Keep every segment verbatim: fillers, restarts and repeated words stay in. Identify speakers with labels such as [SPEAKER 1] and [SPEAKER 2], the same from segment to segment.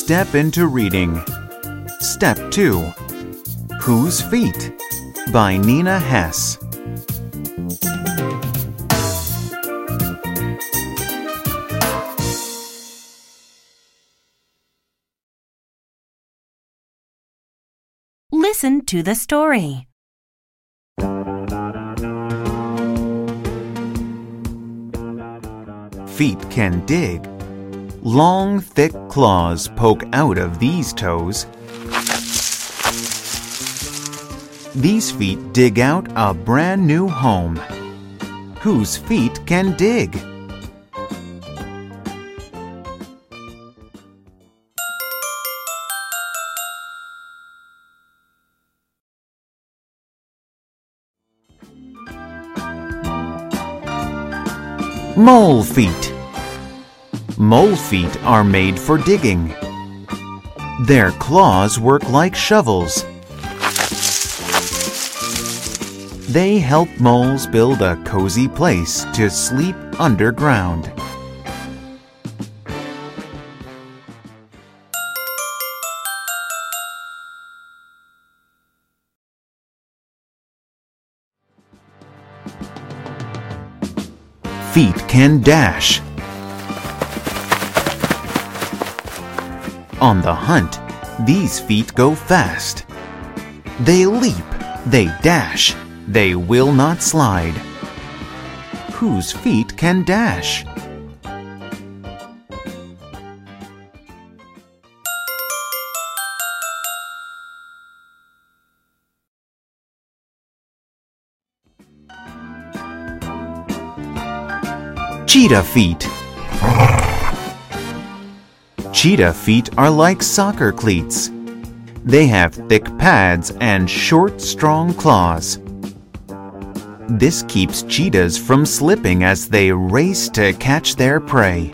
[SPEAKER 1] step into reading. Step two. Whose Feet? By Nina Hess.
[SPEAKER 2] Listen to the story.
[SPEAKER 1] Feet can dig. Long, thick claws poke out of these toes. These feet dig out a brand new home. Whose feet can dig? Mole feet. Mole feet are made for digging. Their claws work like shovels. They help moles build a cozy place to sleep underground. Feet can dash. On the hunt, these feet go fast. They leap, they dash, they will not slide. Whose feet can dash? Cheetah feet. Cheetah feet are like soccer cleats. They have thick pads and short, strong claws. This keeps cheetahs from slipping as they race to catch their prey.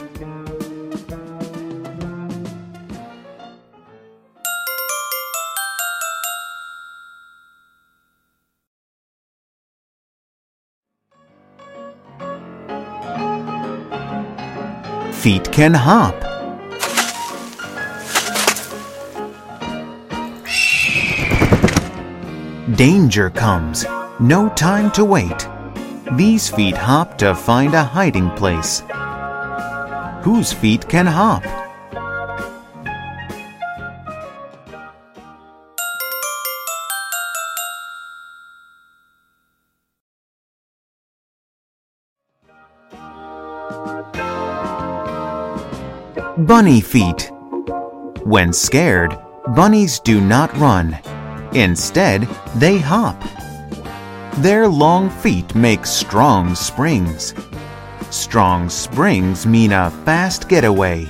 [SPEAKER 1] Feet can hop. Danger comes. No time to wait. These feet hop to find a hiding place. Whose feet can hop? Bunny feet. When scared, bunnies do not run. Instead, they hop. Their long feet make strong springs. Strong springs mean a fast getaway.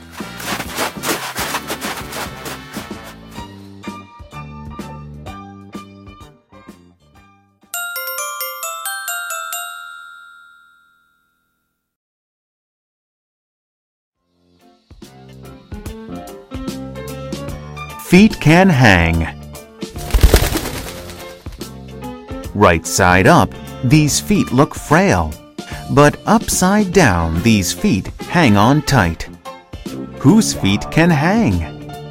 [SPEAKER 1] Feet can hang. Right side up, these feet look frail, but upside down, these feet hang on tight. Whose feet can hang?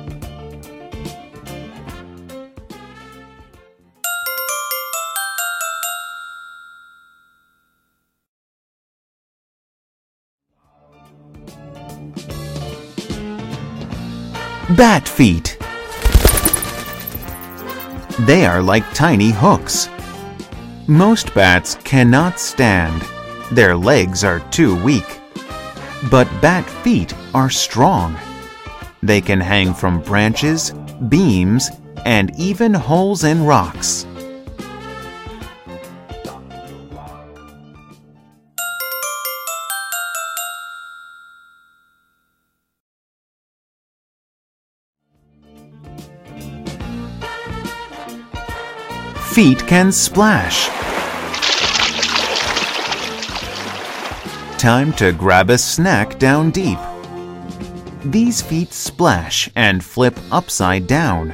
[SPEAKER 1] Bat feet. They are like tiny hooks. Most bats cannot stand. Their legs are too weak. But bat feet are strong. They can hang from branches, beams, and even holes in rocks. Feet can splash. Time to grab a snack down deep. These feet splash and flip upside down.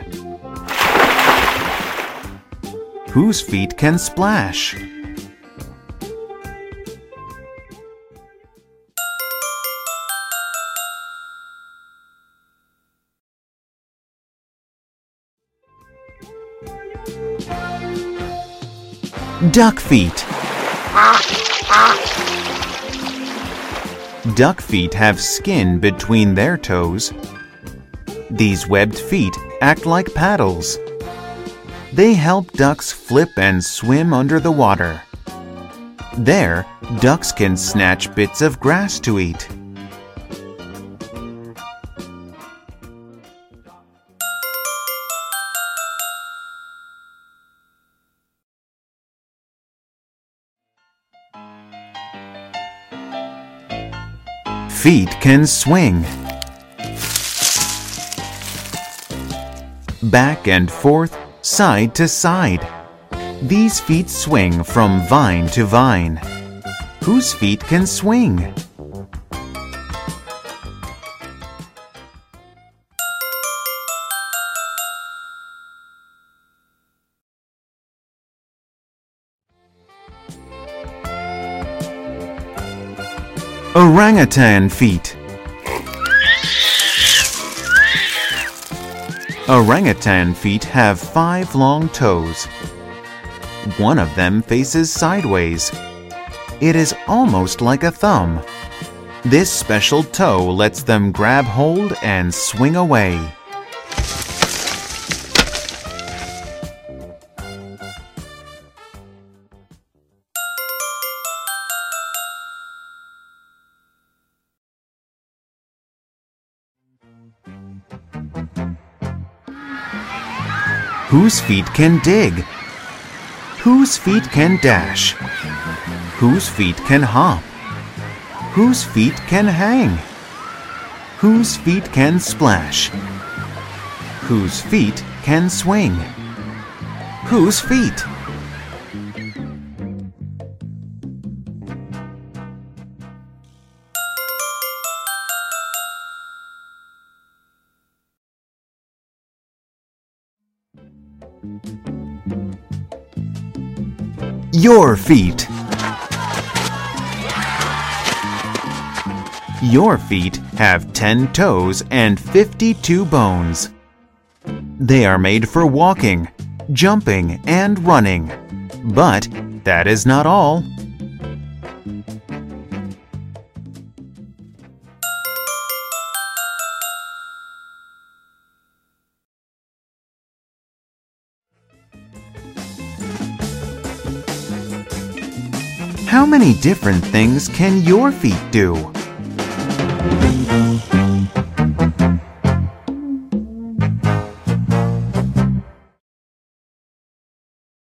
[SPEAKER 1] Whose feet can splash? Duck feet. Duck feet have skin between their toes. These webbed feet act like paddles. They help ducks flip and swim under the water. There, ducks can snatch bits of grass to eat. Feet can swing. Back and forth, side to side. These feet swing from vine to vine. Whose feet can swing? Orangutan feet. Orangutan feet have five long toes. One of them faces sideways. It is almost like a thumb. This special toe lets them grab hold and swing away. Whose feet can dig? Whose feet can dash? Whose feet can hop? Whose feet can hang? Whose feet can splash? Whose feet can swing? Whose feet? Your feet. Your feet have ten toes and fifty-two bones. They are made for walking, jumping, and running. But that is not all. How many different things can your feet do?